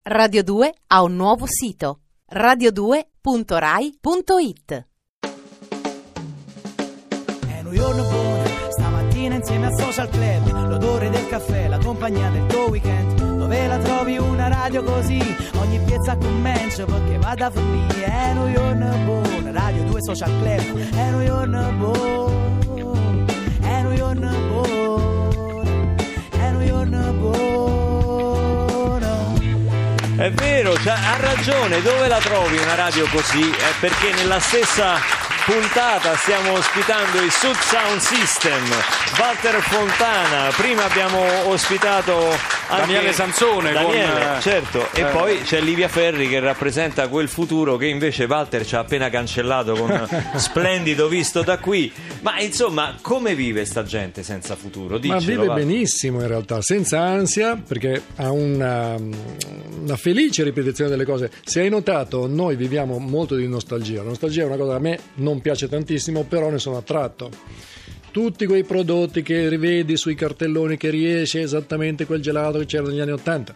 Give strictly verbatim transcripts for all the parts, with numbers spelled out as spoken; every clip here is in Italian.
Radio due ha un nuovo sito: radio due punto rai punto it. È un giorno buono, stamattina insieme al Social Club, l'odore del caffè, la compagnia del tuo weekend. Dove la trovi una radio così? Ogni piazza comincia perché vada a finire. È un giorno buono, Radio due Social Club. È un giorno buono, è un giorno buono, è un giorno buono. È vero, cioè, ha ragione, dove la trovi una radio così? È perché nella stessa puntata stiamo ospitando il Sud Sound System, Walter Fontana. Prima abbiamo ospitato anche Daniele Sansone, Daniele, con, certo, e eh. poi c'è Livia Ferri che rappresenta quel futuro che invece Walter ci ha appena cancellato con Splendido visto da qui. Ma insomma, come vive sta gente senza futuro? Diccelo, Ma vive Walter. benissimo in realtà, senza ansia, perché ha una, una felice ripetizione delle cose. Se hai notato, noi viviamo molto di nostalgia. La nostalgia è una cosa che a me non piace tantissimo, però ne sono attratto. Tutti quei prodotti che rivedi sui cartelloni, che riesce esattamente quel gelato che c'era negli anni ottanta,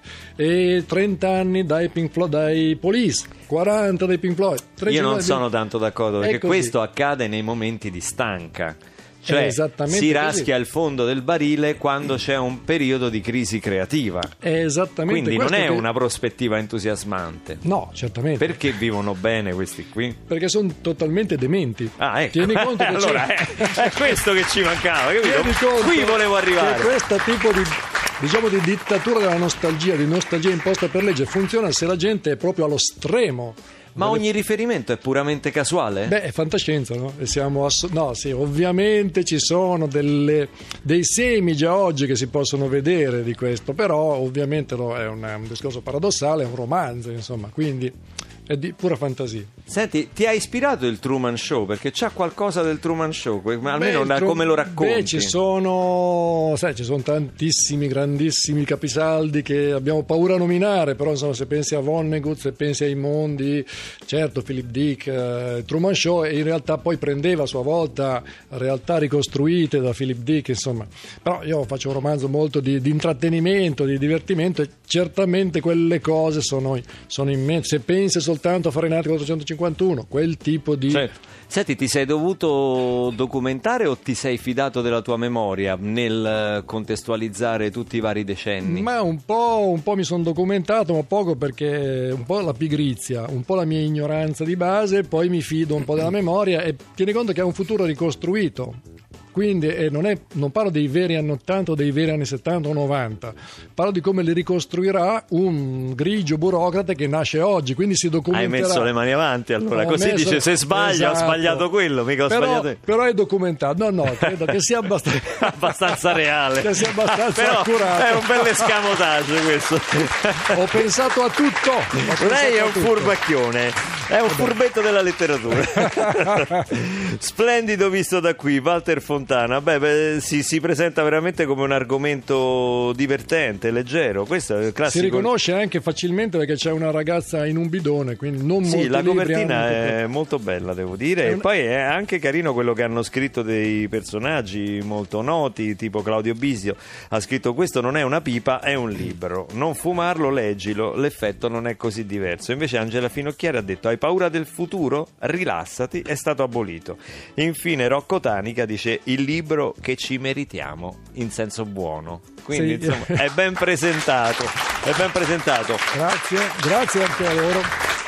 e trenta anni dai Pink Floyd, dai Police, quaranta dai Pink Floyd. Io non sono tanto d'accordo, perché così. Questo accade nei momenti di stanca. È Cioè esattamente si così. raschia il fondo del barile quando c'è un periodo di crisi creativa. È esattamente Quindi non questo è che- una prospettiva entusiasmante. No, certamente. Perché vivono bene questi qui? Perché sono totalmente dementi. Ah, ecco. Tieni conto che allora c'è... è, è questo che ci mancava, capito? Tieni conto Qui volevo arrivare. che questo tipo di, diciamo, di dittatura della nostalgia, di nostalgia imposta per legge, funziona se la gente è proprio allo stremo. Ma ogni riferimento è puramente casuale? Beh, è fantascienza, no? E siamo ass- no, sì, ovviamente ci sono delle, dei semi già oggi che si possono vedere di questo, però ovviamente no, è un, un discorso paradossale, è un romanzo, insomma, quindi è di pura fantasia. Senti, ti ha ispirato il Truman Show? Perché c'ha qualcosa del Truman Show, que- ma almeno Beh, da tro- come lo racconti. Beh, ci sono, sai, ci sono tantissimi grandissimi capisaldi che abbiamo paura a nominare, però insomma, se pensi a Vonnegut, se pensi ai mondi, certo, Philip Dick, eh, Truman Show, e in realtà poi prendeva a sua volta realtà ricostruite da Philip Dick, insomma. Però io faccio un romanzo molto di, di intrattenimento, di divertimento, e certamente quelle cose sono, sono immense. Se pensi soltanto a Fahrenheit quattrocentocinquantuno, quel tipo di... Certo. Senti, ti sei dovuto documentare o ti sei fidato della tua memoria nel contestualizzare tutti i vari decenni? Ma un po', un po' mi sono documentato, ma poco, perché un po' la pigrizia, un po' la mia ignoranza di base, poi mi fido un po' della memoria, e tieni conto che è un futuro ricostruito. Quindi eh, non, è, non parlo dei veri anni ottanta o dei veri anni settanta o novanta, parlo di come li ricostruirà un grigio burocrate che nasce oggi, quindi si documenterà. Hai messo le mani avanti, allora, Ho così messo- dice: se sbaglia, esatto. ho sbagliato quello, mica ho però, sbagliato io. però è documentato. No, no, credo che sia abbastanza, abbastanza reale. che sia abbastanza Però accurato. è un bel escamotage questo. Ho pensato a tutto. Ho pensato Lei è a un tutto. furbacchione, è un furbetto della letteratura. Splendido visto da qui, Walter Fontana. Beh, beh si, si presenta veramente come un argomento divertente, leggero. Questo è il classico. Si riconosce anche facilmente perché c'è una ragazza in un bidone, quindi non Sì, molti la libri copertina hanno è tutto- molto bella, devo dire, e un- poi è anche carino quello che hanno scritto dei personaggi molto noti, tipo Claudio Bisio ha scritto: questo non è una pipa, è un libro, non fumarlo, leggilo, l'effetto non è così diverso. Invece Angela Finocchiari ha detto: hai paura del futuro? Rilassati, è stato abolito. Infine Rocco Tanica dice: il libro che ci meritiamo, in senso buono. Quindi Sì. insomma è ben presentato, è ben presentato. Grazie, grazie anche a loro.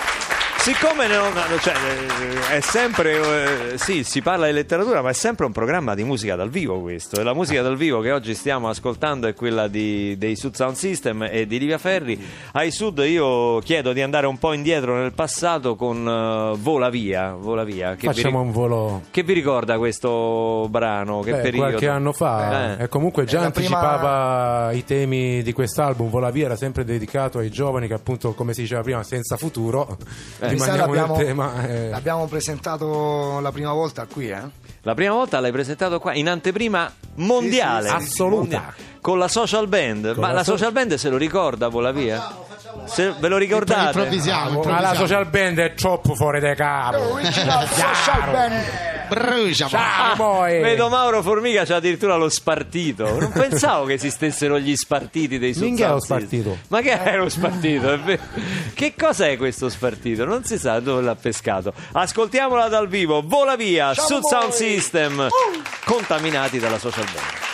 Siccome non, cioè, è sempre, eh, sì, si parla di letteratura, ma è sempre un programma di musica dal vivo questo. E la musica dal vivo che oggi stiamo ascoltando è quella di, dei Sud Sound System e di Livia Ferri. Ai Sud io chiedo di andare un po' indietro nel passato con uh, Vola Via. Vola Via. Che Facciamo vi, un volo. Che vi ricorda questo brano? Che Beh, periodo? qualche anno fa, Eh. e comunque già È la anticipava i temi di quest'album. Vola Via era sempre dedicato ai giovani che, appunto, come si diceva prima, senza futuro. Eh. Rimaniamo nel l'abbiamo, tema. eh. l'abbiamo presentato la prima volta qui, eh? La prima volta l'hai presentato qua in anteprima mondiale, Sì, sì, sì, assoluta. mondiale, con la social band. Con Ma la la so- social band se lo ricorda Vola Via? Se ve lo ricordate? Improvvisiamo, Ma la improvvisiamo. social band è troppo fuori dai capo. Original social band. brucia. Ciao, poi. Vedo Mauro Formica c'ha addirittura lo spartito. Non pensavo che esistessero gli spartiti dei Sud Minchia, Sound lo spartito. System. Ma che è lo spartito? È vero. Che cos'è questo spartito? Non si sa dove l'ha pescato. Ascoltiamola dal vivo. Vola via, Sud Sound System, contaminati dalla social band.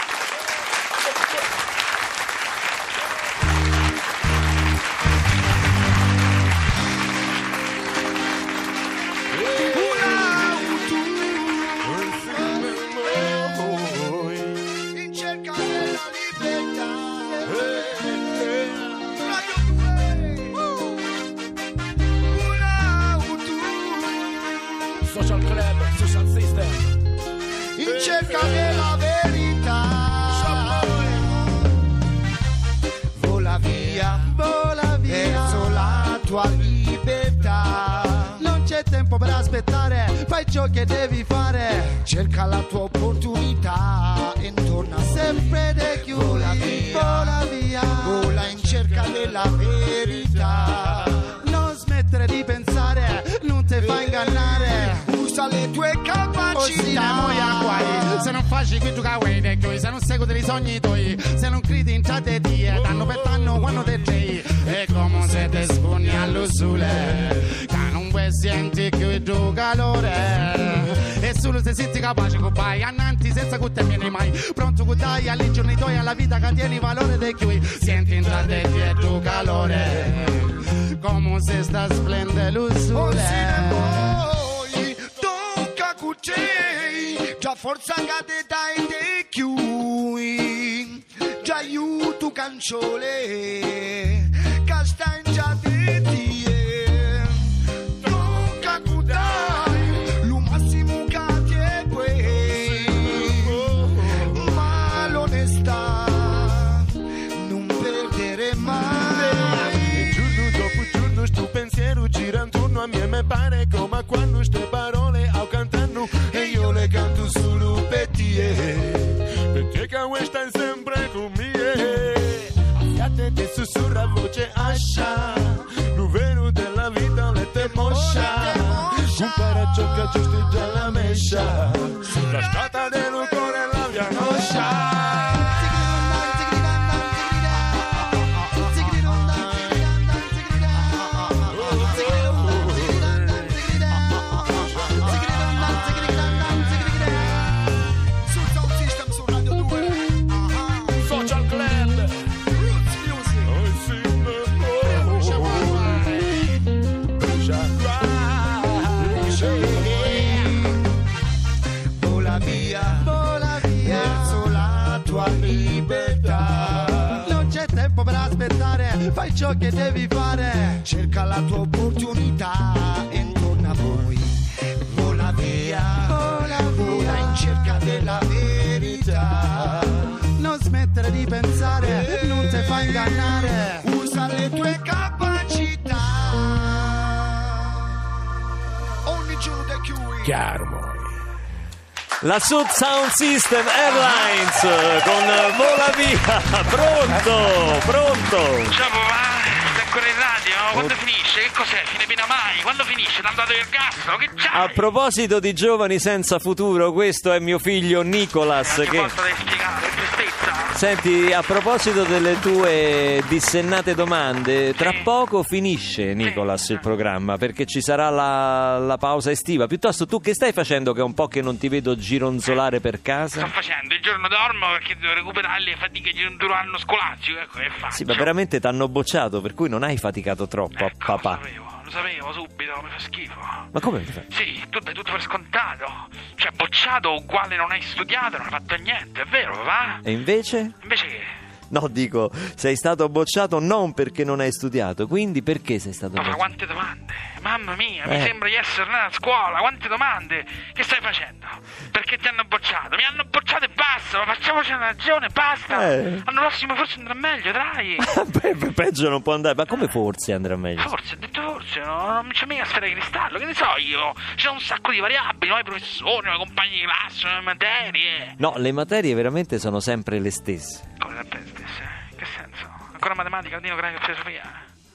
Social Club, Social System. In cerca della verità, vola via, vola via verso la tua libertà. Non c'è tempo per aspettare, fai ciò che devi fare. Cerca la tua opportunità e torna sempre da chiudi. Vola via, vola via, vola in cerca della verità. Non smettere di pensare, non ti fa ingannare. Usa le tue capacità. Se non facci qui tu caway vecchio, se non segui dei sogni tuoi, se non credi in te die, danno per danno quando te sei. È come se te spugni allo sole, che non vuoi senti più il tuo calore. E solo se sei capace che vai avanti senza che te vieni mai. Pronto che dai agli giorni tuoi, alla vita che tieni valore dei chiui. Senti in te il tuo calore, come se sta splende lo sole. Già forza cade dai te chiui, già aiuto canciole, che sta in già te tie. Tocca cudai, lo massimo che ti è quei, ma l'onestà non perdere mai. E giorno dopo giorno sto pensiero gira intorno a me, mi pare come quando ste parole ho cantando e io le canto solo per te, perché che questa è sempre con me. Affiate te sussurra voce ascia, lo vero della vita le te moscia, compara ciò che giusto già la mescia, sulla strada dello cuore la via noscia. Fai ciò che devi fare, cerca la tua opportunità e torna poi. Vola via, vola via, vola in cerca della verità. Non smettere di pensare, non ti fa ingannare. Usa le tue capacità. Ogni giorno da chiudi. Chiaro, moi. La Sud Sound System Airlines con Vola via. Pronto, pronto. Ciao papà, sei ancora in radio? Quando finisce? Che cos'è? Fine pena mai? Quando finisce? T'hanno dato il gas? Che c'hai? A proposito di giovani senza futuro, questo è mio figlio Nicolas. Non ti che... posso spiegare, che tristezza. Senti, a proposito delle tue dissennate domande, tra poco finisce, Nicolas, il programma, perché ci sarà la, la pausa estiva. Piuttosto, tu che stai facendo che è un po' che non ti vedo gironzolare per casa? Sto facendo, il giorno dormo perché devo recuperare le fatiche di un duro anno scolastico, ecco che faccio. Sì, ma veramente t'hanno bocciato, per cui non hai faticato troppo, ecco, papà. Lo sapevo, lo sapevo subito, mi fa schifo. Ma come mi fa? Sì, tu dai tutto per scontato. Cioè, bocciato uguale non hai studiato, non hai fatto niente, è vero, papà? E invece? Invece che? No, dico, sei stato bocciato non perché non hai studiato, quindi perché sei stato Papà, bocciato? quante domande! Mamma mia, Eh. mi sembra di essere nata a scuola, quante domande! Che stai facendo? Perché ti hanno bocciato? Mi hanno bocciato e basta, ma facciamoci una ragione, basta! Eh. L'anno prossimo forse andrà meglio, dai! Beh, beh, peggio non può andare, ma come forse andrà meglio? Forse, ho detto forse, no, non c'è mica sfera di cristallo, che ne so io? Ci sono un sacco di variabili, nuovi professori, nuovi compagni di classe, nuove materie. No, le materie veramente sono sempre le stesse. Come sempre le stesse? Che senso? Ancora matematica, latino, greco e filosofia?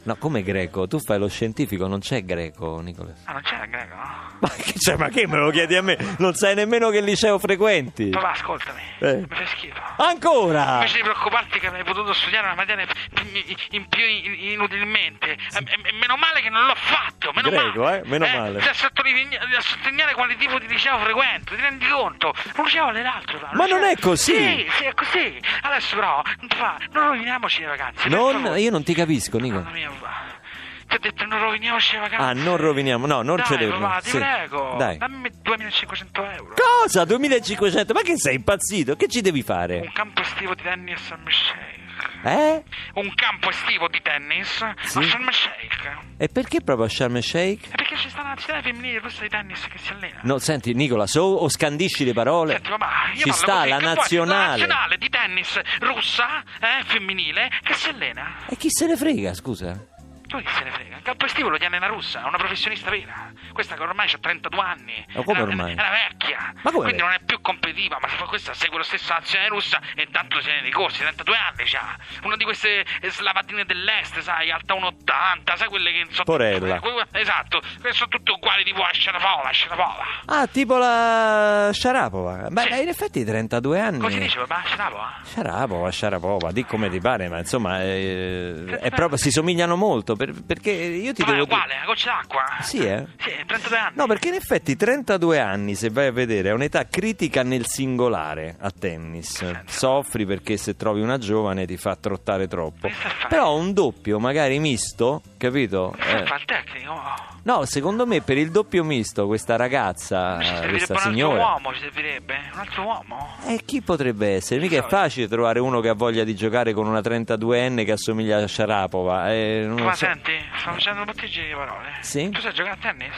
No, come greco? Tu fai lo scientifico, non c'è greco, Nicola. Ah, non c'era greco? Ma che, cioè, ma che me lo chiedi a me? Non sai nemmeno che liceo frequenti. Papà, ascoltami, Eh. mi fai schifo. Ancora? Invece di preoccuparti che avrei potuto studiare una materia in, in più in- inutilmente, e, e- e meno male che non l'ho fatto, meno Greco, male. eh? Meno male. A sottolineare, a sottolineare quale tipo di liceo frequento, ti rendi conto? Un liceo vale l'altro. fa, un Ma liceo- non è così. Sì, sì, è così. Adesso però, non ti fa, non roviniamoci le vacanze. per Non, favore. io non ti capisco, Nicola. Mamma mia, papà. Ti ho detto non roviniamoci le vacanze. Ah, non roviniamo, no, non Dai, ce le papà, ti sì. prego. Dai. Dammi duemilacinquecento euro. Cosa? duemilacinquecento? Ma che sei impazzito? Che ci devi fare? Un campo estivo di tennis a Sharm el Sheikh. Eh? Un campo estivo di tennis Sì. a Sharm el Sheikh. E perché proprio a Sharm el Sheikh? E perché ci sta la nazionale femminile russa di tennis che si allena. No, senti, Nicola, so o scandisci le parole? Senti, papà, io Ci parlo sta così, la che vuoi? nazionale. La nazionale di tennis russa, eh, femminile, che si allena. E chi se ne frega, scusa? Tu chi se ne frega? Il campo estivo lo tiene una russa, è una professionista vera. Questa che ormai ha trentadue anni. Ma come È una- ormai? È una vecchia. Ma come Quindi vecchia? non è più competitiva, ma se fa questa segue lo stesso nazionale russa e tanto se ne dei corsi, trentadue anni già. Una di queste slavatine dell'est, sai, alta uno e ottanta, sai quelle che sono Porella. tutte- esatto, che sono tutte uguali tipo a Sharapova, Sharapova. Ah, tipo la Sharapova. Beh, Sì. in effetti trentadue anni. Come si dice, papà? Sharapova? Sharapova, Sharapova, di come ti pare, ma insomma, eh, è proprio, si somigliano molto, per- perché io ti Papà, è devo dire... uguale, una goccia d'acqua. Sì, eh? Sì, trentadue anni. No, perché in effetti trentadue anni, se vai a vedere, è un'età critica nel singolare a tennis. Soffri perché se trovi una giovane ti fa trottare troppo. Che sta a fare? Però un doppio, magari misto, capito? Che Eh, fa il tecnico? no, secondo me per il doppio misto questa ragazza, Ci servirebbe questa un altro signora... uomo, ci servirebbe un altro uomo. E chi potrebbe essere? Mica è facile trovare uno che ha voglia di giocare con una trentaduenne che assomiglia a Sharapova. Eh, non lo Ma so. senti, sto facendo un bottiglie di parole. Sì? Tu sai giocare a tennis?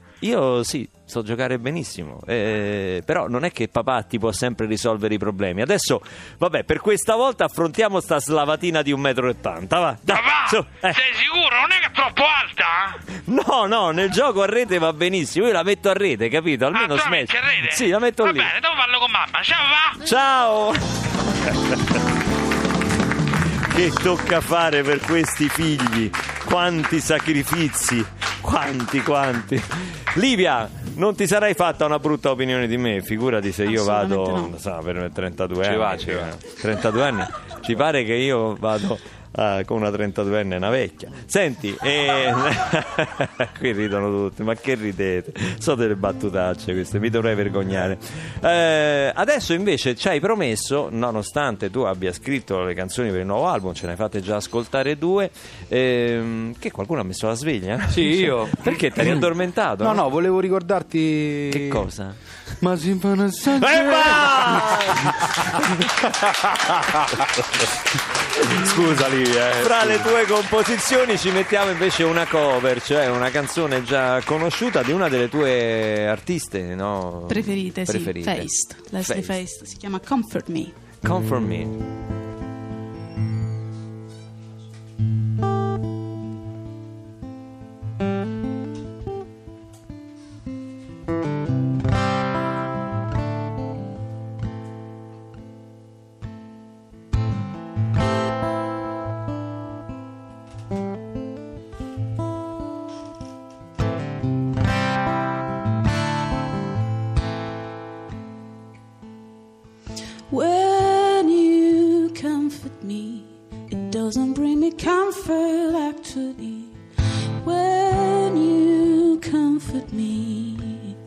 Io sì, so giocare benissimo, eh, però non è che papà ti può sempre risolvere i problemi. Adesso, vabbè, per questa volta affrontiamo sta slavatina di un metro e ottanta, va. Dai, Papà, su, eh. sei sicuro? Non è che è troppo alta? No, no, nel gioco a rete va benissimo, io la metto a rete, capito? Almeno ah, tu la smash. metti a rete? Sì, la metto Va lì. bene, dopo parlo con mamma. Ciao, va! Ciao! Che tocca fare per questi figli? Quanti sacrifici? Quanti, quanti? Livia, non ti sarai fatta una brutta opinione di me? Figurati se io vado, Assolutamente no. sa, per trentadue Ci anni. va, ci va. trentadue anni. Ci pare che io vado ah, con una trentaduenne, una vecchia. Senti, eh... qui ridono tutti, ma che ridete? So delle battutacce queste, mi dovrei vergognare. Eh, adesso invece ci hai promesso, nonostante tu abbia scritto le canzoni per il nuovo album, ce ne hai fatte già ascoltare due, ehm, che qualcuno ha messo la sveglia? Sì, io. Perché ti eri addormentato? No, no, volevo ricordarti. Che cosa? Ma si fa una Scusa Livia, eh. Fra le tue composizioni ci mettiamo invece una cover, cioè una canzone già conosciuta di una delle tue artiste, no? Preferite, Preferite. sì, Feist, Leslie Feist. Feist, si chiama Comfort Me. Comfort Me. When you comfort me, it doesn't bring me comfort actually. When you comfort me,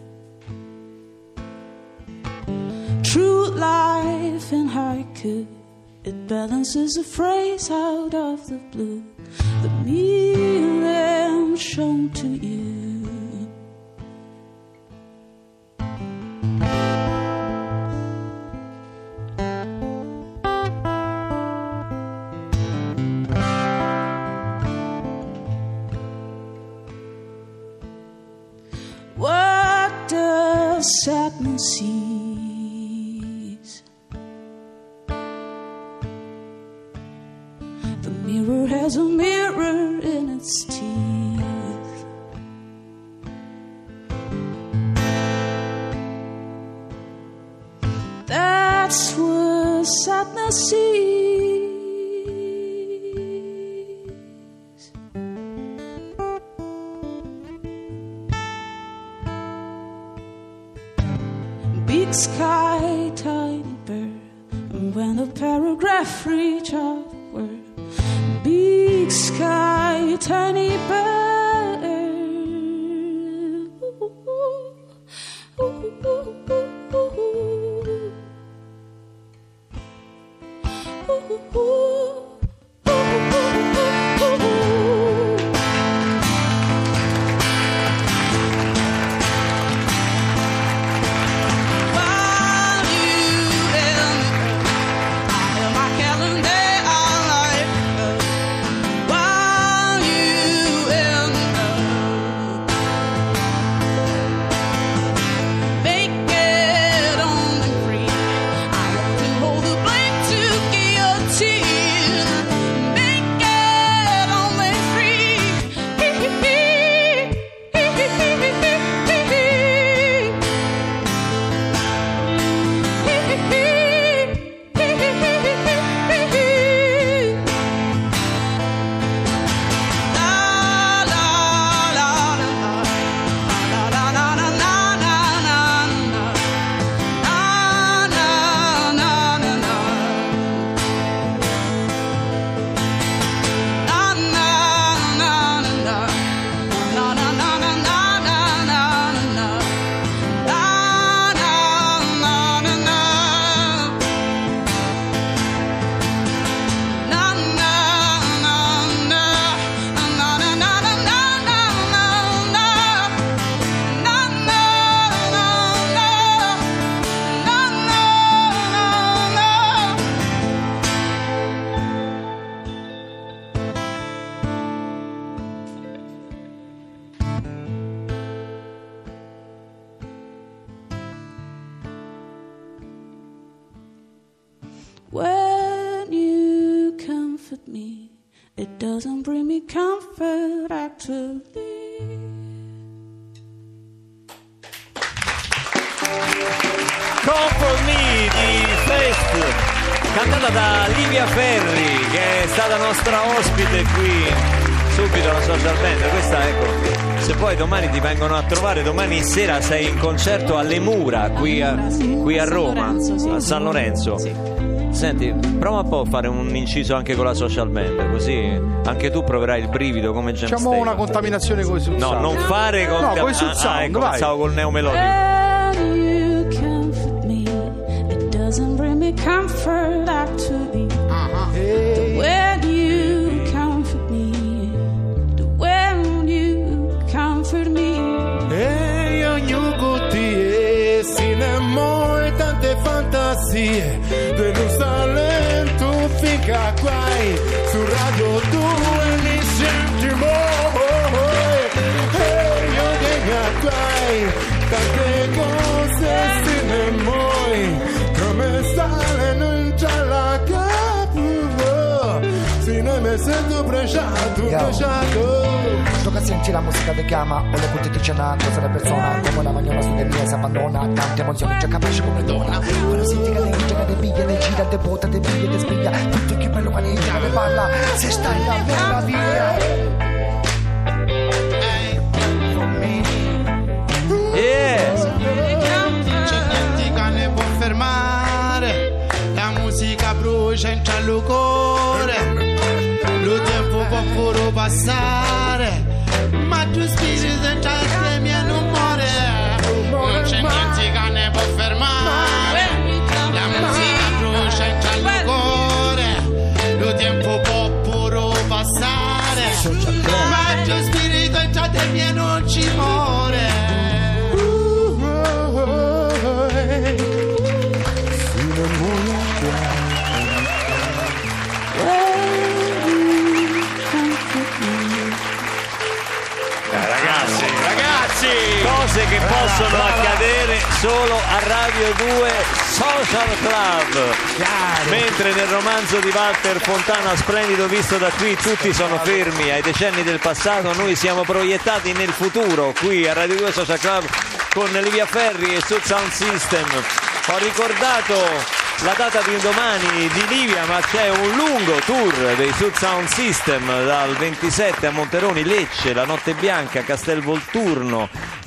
true life and haiku, it balances a phrase out of the blue. The meaning shown to you. What does sadness sees? The mirror has a mirror in its teeth. That's what sadness sees. big sky, tiny bird. And when the paragraph reach outward, big sky, tiny bird. Ooh, ooh, ooh, ooh, ooh. Ooh, ooh, ooh. When you comfort me, it doesn't bring me comfort actually. Comfort Me di Fest, cantata da Livia Ferri, che è stata nostra ospite qui subito alla Social Band. Questa, ecco, se poi domani ti vengono a trovare, domani sera sei in concerto alle Mura qui a, qui a Roma, a San Lorenzo. Senti, prova un po' a fare un inciso anche con la Social Band, così anche tu proverai il brivido come James Facciamo Taylor. una contaminazione con i sul No, sound. non fare con No, con i sul ah, sound, ah, ecco, vai. pensavo col neomelodico. When you comfort me, it doesn't bring me comfort actually. Hey. When you comfort me, when you comfort me. E ognuno con te, cinema e tante fantasie, dello talento finca guai, su Radio due mi sentimo, e io vengo guai, tante cose cinema, come stare non c'è la capo, se ne mi sento bruciato, bruciato. Che senti la musica ti chiama o le punti ti cenando, se le persone come la magnona su di si abbandona, tante emozioni già capaci come donna, quando senti che le gira, te piglia, le gira, te bota, te piglia, te spiglia, tutto che bello quando gira, te parla, se stai la meraviglia. Yes. C'è niente che ne può fermare, la musica brucia in cielo cuore, lo tempo può pure passare, ma tu spirito in cielo mio non muore, non c'è niente che ne può fermare, la musica brucia in cielo cuore, lo tempo può pure passare, ma tu spirito in cielo mio non ci muore. Ragazzi, ragazzi, cose che possono accadere solo a Radio due Social Club. Mentre nel romanzo di Walter Fontana, splendido visto da qui, tutti sono fermi ai decenni del passato, noi siamo proiettati nel futuro qui a Radio due Social Club con Livia Ferri e sul Sound System. Ho ricordato la data di domani di Livia, ma c'è un lungo tour dei Sud Sound System dal ventisette a Monteroni, Lecce, la Notte Bianca, Castelvolturno,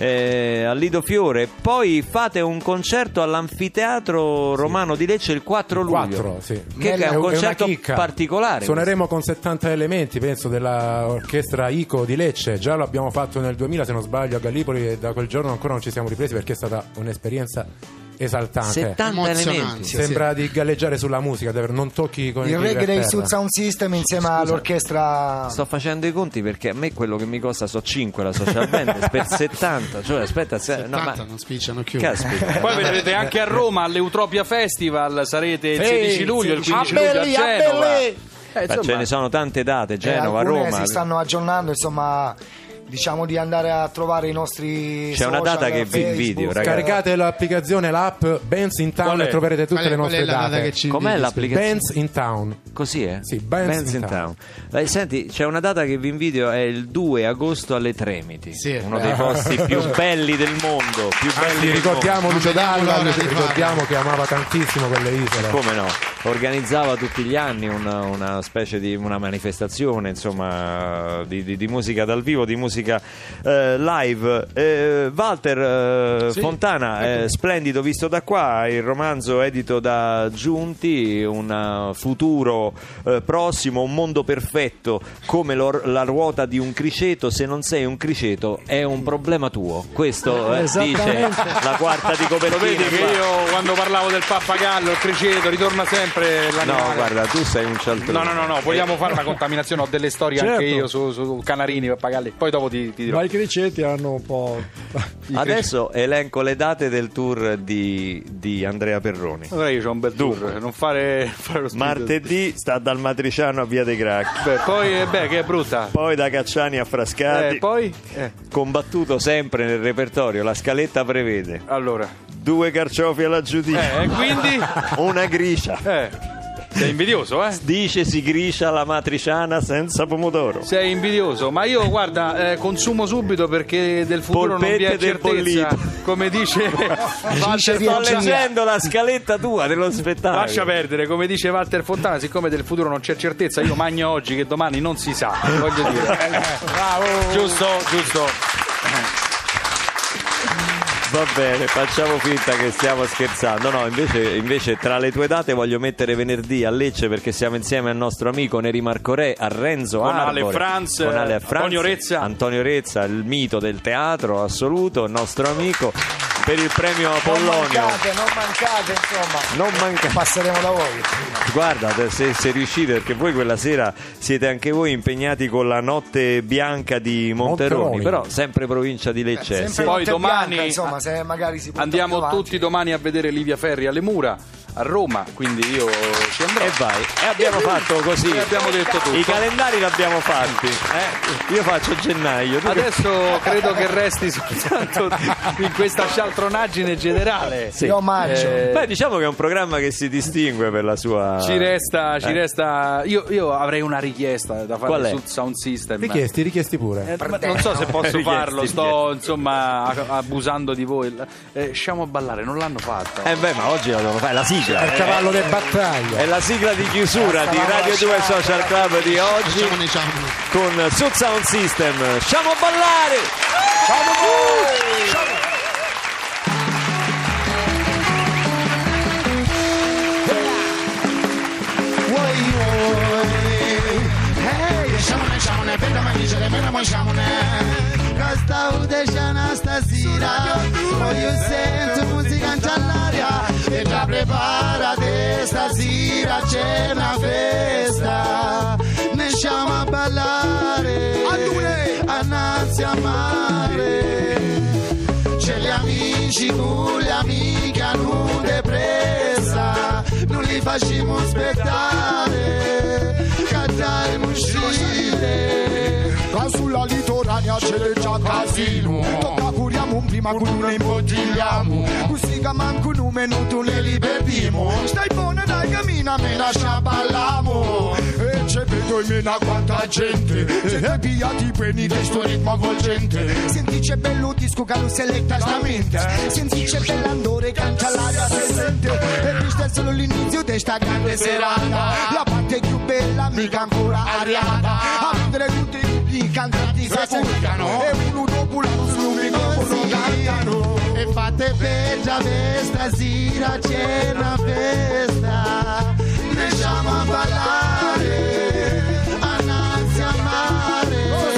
eh, a Lido Fiore. Poi fate un concerto all'Anfiteatro Romano di Lecce il quattro luglio. quattro, sì. Che è un concerto chicca. particolare. Suoneremo con settanta elementi, penso, dell'orchestra Ico di Lecce. Già lo abbiamo fatto nel duemila, se non sbaglio, a Gallipoli, e da quel giorno ancora non ci siamo ripresi perché è stata un'esperienza esaltante. settanta elementi. Sembra sì. di galleggiare sulla musica, non tocchi con il il reggae dei terra. Sud Sound System insieme Scusa, all'orchestra. Sto facendo i conti perché a me quello che mi costa so cinque la social band per settanta, cioè aspetta, se, settanta no, ma non spicciano più. Caspita. Poi vedrete anche a Roma all'Eutropia Festival, sarete il sedici luglio, il quindici luglio a Belli, Genova. belli. Eh, Ma ce ne sono tante date, Genova, eh, alcune Roma. si stanno aggiornando, insomma, diciamo di andare a trovare i nostri C'è social, una data che vi Facebook. invidio, ragazzi. Caricate l'applicazione, l'app Bands in Town e troverete tutte Qual è- le qual nostre è la data date. che ci Com'è inviti? l'applicazione? Bands in Town. Così è? Sì, Bands in Town. Eh, senti, c'è una data che vi invidio, è il due agosto alle Tremiti, Sì. uno dei posti più belli del mondo, più belli Anzi, del ricordiamo mondo. Lucio Non vediamo Dalla, l'ora di ricordiamo farlo. che amava tantissimo quelle isole. Come no? Organizzava tutti gli anni una, una specie di una manifestazione, insomma, di, di, di musica dal vivo, di musica eh, live. Eh, Walter eh, Sì, Fontana, eh, splendido visto da qua, il romanzo edito da Giunti, un uh, futuro eh, prossimo, un mondo perfetto come l'or- la ruota di un criceto. Se non sei un criceto è un problema tuo. Questo eh, dice Esattamente. la quarta di Lo copertina. vedi che qua. io quando parlavo del pappagallo, il criceto, ritorna sempre l'animale. No, guarda, tu sei un cialtrone. No, no, no, no, vogliamo fare una contaminazione, ho delle storie Certo. anche io su, su canarini, pappagalli, poi dopo ti, ti dirò. Ma i criceti hanno un po'. Adesso elenco le date del tour di, di Andrea Perroni. Allora io c'ho un bel tour, non fare, fare lo spirito. Martedì sta dal Matriciano a Via dei Gracchi, Beh, poi eh, beh, che è brutta. poi da Cacciani a Frascati. Eh, poi eh, Combattuto sempre nel repertorio, la scaletta prevede allora, due carciofi alla giudicia, eh, e quindi una gricia. eh sei invidioso, eh? Dice si gricia la matriciana senza pomodoro. Sei invidioso, ma io guarda, eh, consumo subito perché del futuro non vi è Polpette del certezza. bollito. Come dice Walter Sto Fontana, leggendo la scaletta tua dello spettacolo. lascia perdere, come dice Walter Fontana, siccome del futuro non c'è certezza, io magno oggi che domani non si sa, voglio dire. Bravo. Giusto, giusto. Va bene, facciamo finta che stiamo scherzando. No, invece, invece tra le tue date voglio mettere venerdì a Lecce perché siamo insieme al nostro amico Neri Marco Re, a Renzo Con Arbore, Ale Franz, con Ale Franz, Antonio Rezza. Antonio Rezza, il mito del teatro assoluto, il nostro amico, per il premio Non Apollonio. mancate, non mancate, insomma. Non manca. Passeremo da voi. Guarda, se, se riuscite, perché voi quella sera siete anche voi impegnati con la Notte Bianca di Monteroni, Monteroni. però sempre provincia di Lecce. Sempre Se- Poi notte domani- bianca, insomma, se magari si porta Andiamo più avanti. tutti domani a vedere Livia Ferri alle Mura a Roma, quindi io ci andrò. E vai, e abbiamo fatto così. E abbiamo detto tutto. I calendari li abbiamo fatti. eh? Io faccio gennaio. tu che- Adesso credo che resti soltanto in questa scialtronaggine generale. Sì. Io omaggio. Eh, Beh, diciamo che è un programma che si distingue per la sua. Ci resta, ci Eh. resta. Io, io avrei una richiesta da fare Qual è? sul sound system. Richiesti, richiesti pure. Eh, ma non so se posso Richiesti, farlo, sto insomma a- abusando di voi. Eh, Sciamo a ballare, non l'hanno fatto. Eh beh, ma oggi la devono fare, è la sigla. È il cavallo di battaglia. È la sigla di chiusura di Radio due Social Club di oggi Diciamo, diciamo. con Sud Sound System. Sciamo a ballare! Stasera voglio sento musica all'aria e già preparate stasera c'è una festa ne siamo a ballare annanzi a mare c'è gli amici con le amiche hanno depressa non li facciamo aspettare cantare uscire Qua sulla litorania c'è già casino tocca curiamo un prima con noi imbottigliamo così che manco un minuto ne li perdiamo stai buona dai cammina me lascia ballamo e Se vedo in mena quanta gente, se due pigliati preni di sto ritmo avvolgente. Senti c'è bello disco che lo seletta stamente. Senti c'è bell'andore canta l'aria presente. E questo è solo l'inizio di sta grande serata. La parte più bella mica ancora arrivata. A vedere tutti i cantanti che pubblicano. E uno dopo l'altro sul microfono cantano. E fate per già stasera c'è una festa. Lasciamo a ballare, annanzi a mare.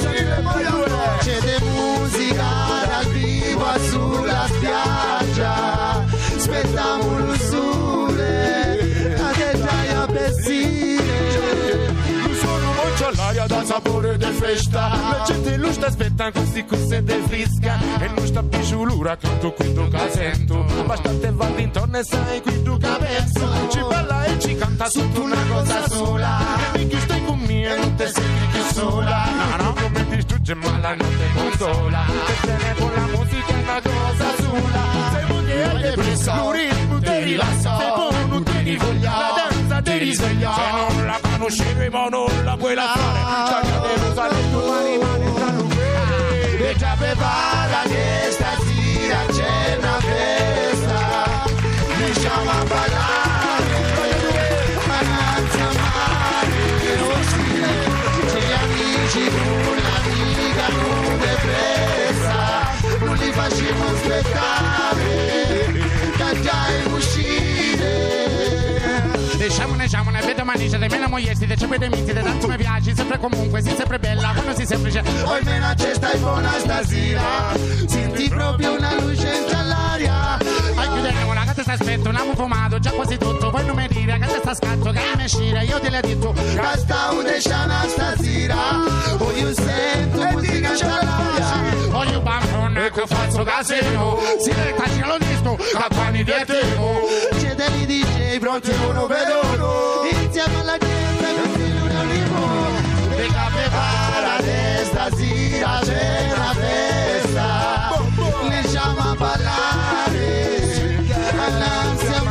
C'è de musica dal vivo sulla spiaggia. Aspettiamo il sole, a te dai a bessire. Sono c'ho l'aria da sapore di festa. La gente lo sta aspettando così così del frisca. E non sta più sull'ura canto qui tu che sento. Bastante va d'intorno e sai qui tu che penso. Ci parla e ci canta sotto una cosa sola. E mi chi stai con me e non te senti più sola. No, no, come ti distrugge ma la notte consola. Te bene con la musica è una cosa sola. Sei moglie hai depressa, un ritmo ti rilassa. Sei buono, non ti rivoglia, la danza ti risveglia. Se non la conoscevo non la puoi lasciare. Stacca le rosa le tue rimane tra noi. E già prepara che stasera c'è una festa. Lasciamo a ballare, annanzi a mare. C'è gli amici con l'amica non depressa. Non li facciamo aspettare, che già è uscire. Diciamo, diciamo, ne vedo manice, di meno mogliesti, de cepede miti, de tanto mi piaci, sempre comunque, si sempre bella, quando si semplice. Poi meno c'è stai buona stasera, senti proprio una luce all'aria. Hai chiudendo con la gatta sta aspetto, un amo fumato, già quasi tutto, poi non mi dire, che sta scatto, che mi escire, io te l'ho detto. Che sta udesciana stasera, poi io sento musica all'aria. Poi io bambone, che faccio casino, si retta, ci lo disto, campani di etemo. C'è dei D J pronti uno per uno, insieme alla gente così l'uno limo. E che prepara stasera c'è una festa. Lasciamo a ballare, annanzi a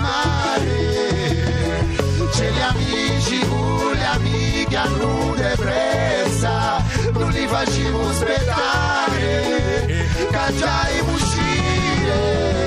mare. C'è gli amici con le amiche a nude pressa. Non li facciamo aspettare, che già è uscire.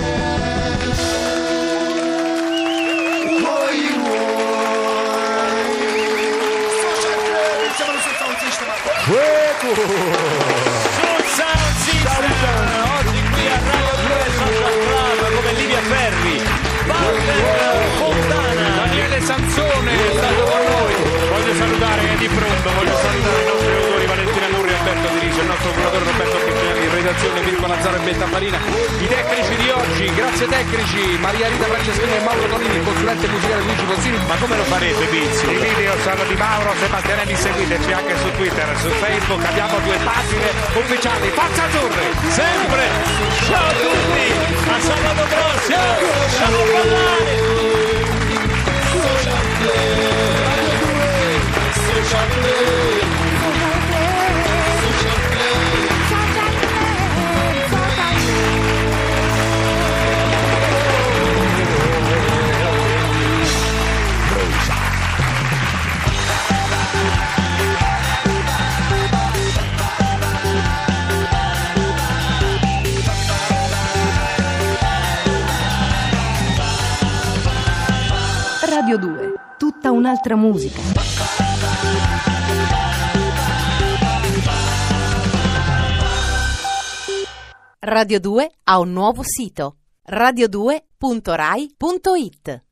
Fuego! Sul Sound System! Oggi qui a Radio due Social Club come Livia Ferri, Walter Fontana, Daniele Sansone è stato con noi. Voglio salutare di pronto, voglio salutare i nostri autori Valentina Nurri, Alberto Dirige, il nostro curatore Roberto Piccinelli, in redazione Mirko Lazzaro e Betta Farina, i tecnici di oggi, grazie tecnici, Maria Rita Franceschini e Mauro Tonini, il consulente musicale Luigi Pozzini. Ma come lo farete, Pizio? I video sono di Mauro Sebastianelli, seguiteci anche su Twitter, su Facebook, abbiamo due pagine ufficiali. Forza Azzurri! Sempre! Ciao a tutti! A sabato prossimo! Ciao a ballare! Social Play! Social Play! Radio due, tutta un'altra musica. Radio due ha un nuovo sito, radio due punto rai punto it.